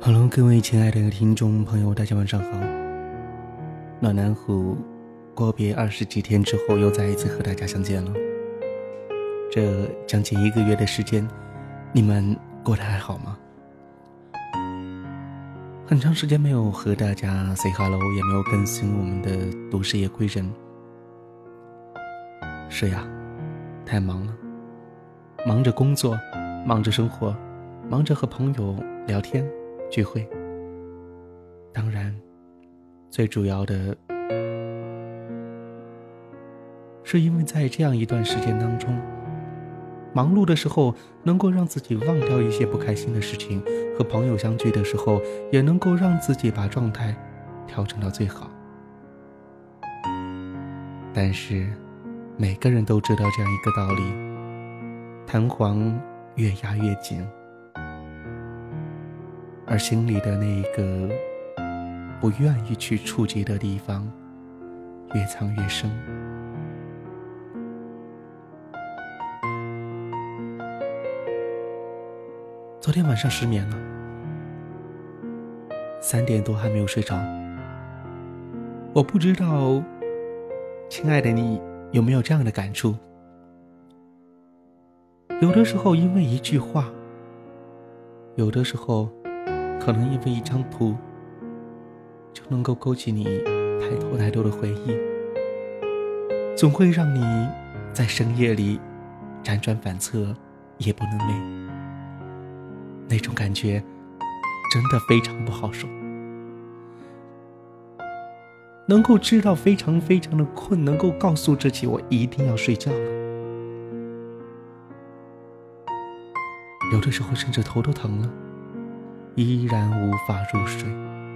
Hello， 各位亲爱的听众朋友，大家晚上好。暖男虎阔别20几天之后，又再一次和大家相见了。这将近1个月的时间，你们过得还好吗？很长时间没有和大家 say hello， 也没有更新我们的都市夜归人。是呀，太忙了，忙着工作，忙着生活，忙着和朋友聊天聚会，当然最主要的是因为在这样一段时间当中，忙碌的时候能够让自己忘掉一些不开心的事情，和朋友相聚的时候也能够让自己把状态调整到最好。但是每个人都知道这样一个道理，弹簧越压越紧，而心里的那个不愿意去触及的地方越藏越深。昨天晚上失眠了，3点多还没有睡着。我不知道亲爱的你有没有这样的感触，有的时候因为一句话，有的时候可能因为一张图，就能够勾起你太多的回忆，总会让你在深夜里辗转反侧，夜不能寐。那种感觉真的非常不好受。能够知道非常的困，能够告诉自己我一定要睡觉了，有的时候甚至头都疼了，依然无法入睡。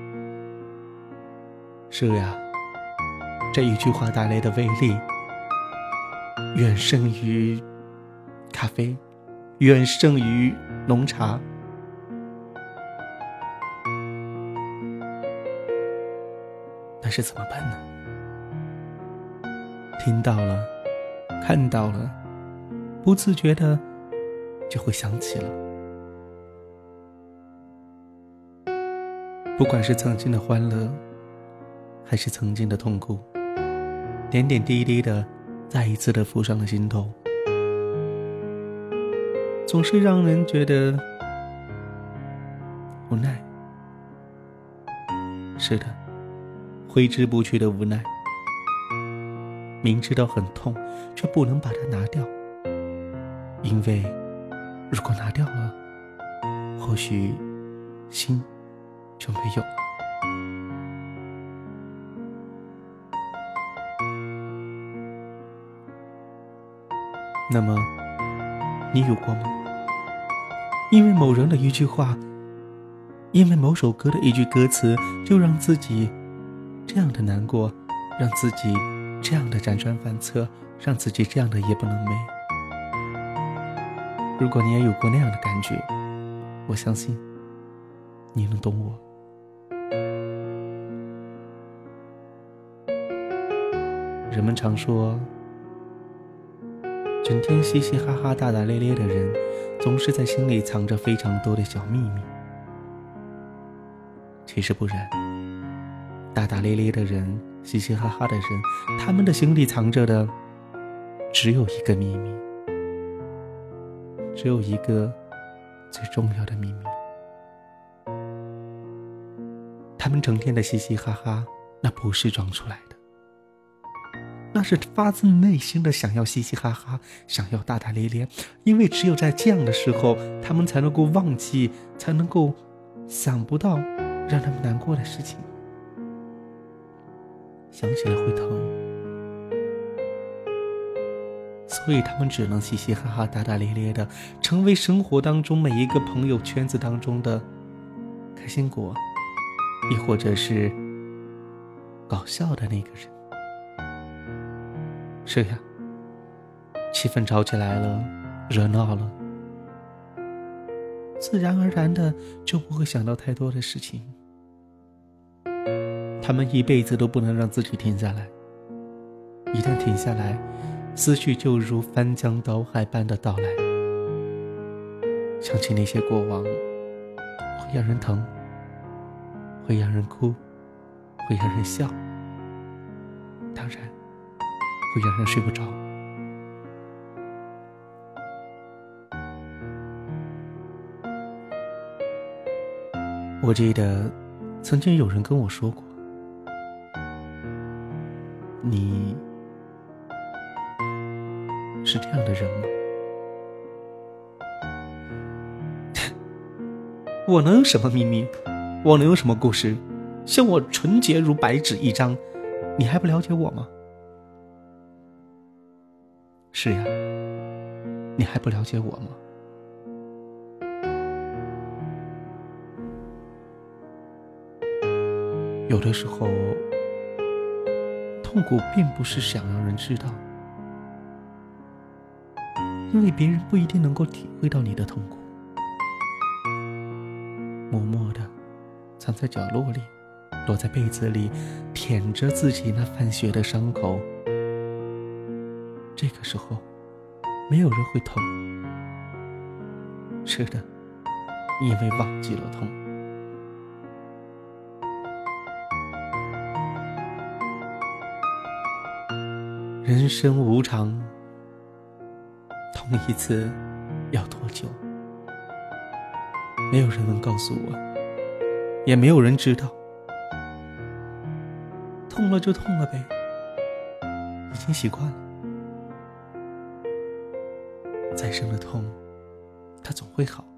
是呀，这一句话带来的威力远胜于咖啡，远胜于浓茶。但是怎么办呢？听到了，看到了，不自觉的就会想起了。不管是曾经的欢乐，还是曾经的痛苦，点点滴滴的再一次的浮上了心头，总是让人觉得无奈。是的，挥之不去的无奈，明知道很痛，却不能把它拿掉，因为如果拿掉了，或许心就没有了。那么你有过吗？因为某人的一句话，因为某首歌的一句歌词，就让自己这样的难过，让自己这样的辗转反侧，让自己这样的夜不能寐。如果你也有过那样的感觉，我相信你能懂我。人们常说，整天嘻嘻哈哈大大咧咧的人，总是在心里藏着非常多的小秘密。其实不然，大大咧咧的人，嘻嘻哈哈的人，他们的心里藏着的只有一个秘密，只有一个最重要的秘密。他们整天的嘻嘻哈哈，那不是装出来的，那是发自内心的想要嘻嘻哈哈，想要大大咧咧，因为只有在这样的时候，他们才能够忘记，才能够想不到让他们难过的事情，想起来会疼，所以他们只能嘻嘻哈哈大大咧咧的，成为生活当中每一个朋友圈子当中的开心果，亦或者是搞笑的那个人。是呀，气氛吵起来了，热闹了，自然而然的就不会想到太多的事情。他们一辈子都不能让自己停下来，一旦停下来，思绪就如翻江倒海般的到来。想起那些过往，会让人疼， 会让人哭，会让人笑，当然会让人睡不着。我记得曾经有人跟我说过，你是这样的人吗？我能有什么秘密？我能有什么故事？像我纯洁如白纸一张，你还不了解我吗？是呀，你还不了解我吗？有的时候，痛苦并不是想让人知道，因为别人不一定能够体会到你的痛苦。默默的藏在角落里，躲在被子里，舔着自己那泛血的伤口。这个时候，没有人会痛。是的，因为忘记了痛。人生无常，痛一次要多久？没有人能告诉我，也没有人知道。痛了就痛了呗，已经习惯了。再深的痛，它总会好。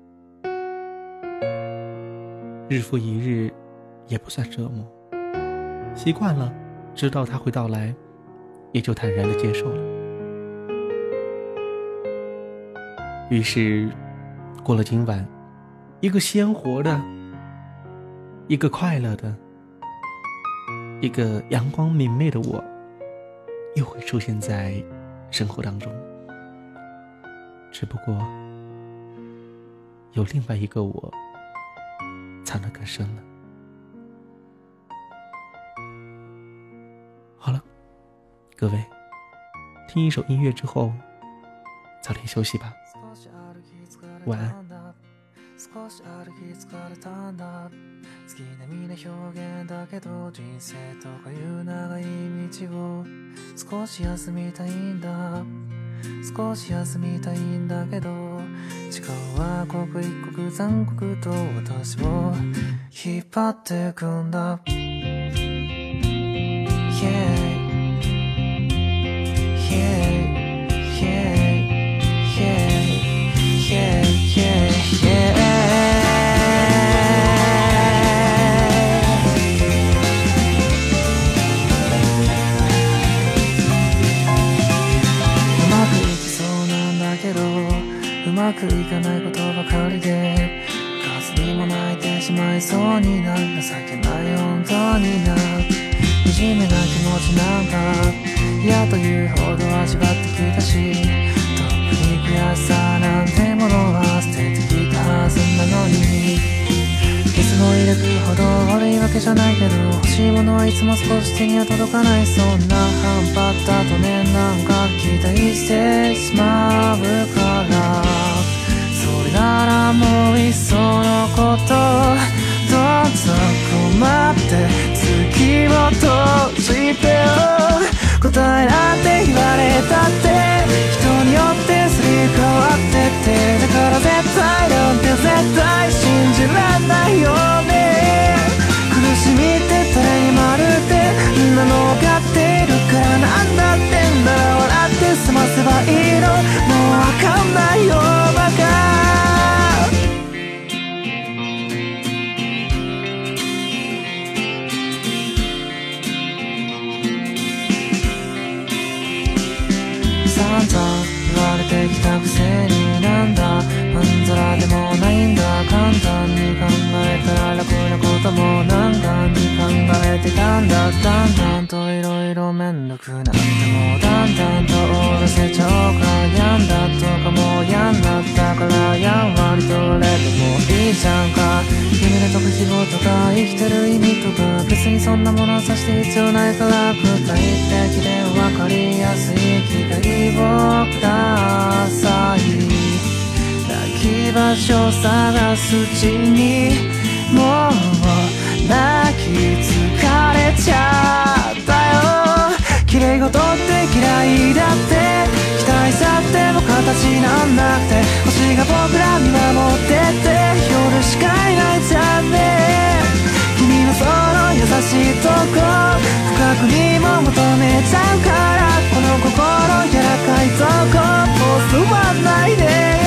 日复一日，也不算折磨。习惯了，知道它会到来，也就坦然地接受了。于是，过了今晚，一个鲜活的，一个快乐的，一个阳光明媚的我，又会出现在生活当中。只不过，有另外一个我，藏得更深了。好了，各位，听一首音乐之後早点休息吧，晚安。 少し歩き疲れたんだ。月並みな表現だけど、人生とかいう長い道を少し休みたいんだ。少し休みたいんだけど、時間は刻一刻残酷と私を引っ張ってくんだ。うまくいかないことばかりで、数にも泣いてしまいそうになる。情けない本当にな、惨めな気持ちなんか嫌というほど味わってきたし、特に悔しさなんてものは捨ててきたはずなのに、水の入れくほど悪いわけじゃないけど、欲しいものはいつも少し手には届かない。そんな半端だとね、なんか期待してしまうから、それならもういっそのことどん底まで月を閉じてよ。答えなんて言われたって人によってすり替わってって、だから絶対なんて絶対信じらんないよね。苦しみって誰にもあるってみんなの分かっているから、なんだってんだら笑って済ませばいいの。もう分かんないよバカ。散々言われてきたくせに、なんだまんざらでもないんだ。簡単に考えたら楽なことも難関に考えてたんだ。だんだんといろいろめんどくなって、もうだんだんと終わらせちゃおうか。やんだとかもうやんなったから、やんわりとれてもいいじゃんか。夢で解く希望とか生きてる意味とか、別にそんなものはさして必要ないから、具体的で分かりやすい機会をください。泣き場所探すうちにもう泣き疲れちゃったよ。綺麗事って嫌いだって期待さっても形なんなくて星が僕ら見守ってて夜しかいない残念。君のその優しいとこ深くにも求めちゃうからこの心柔らかいとこもう座んないで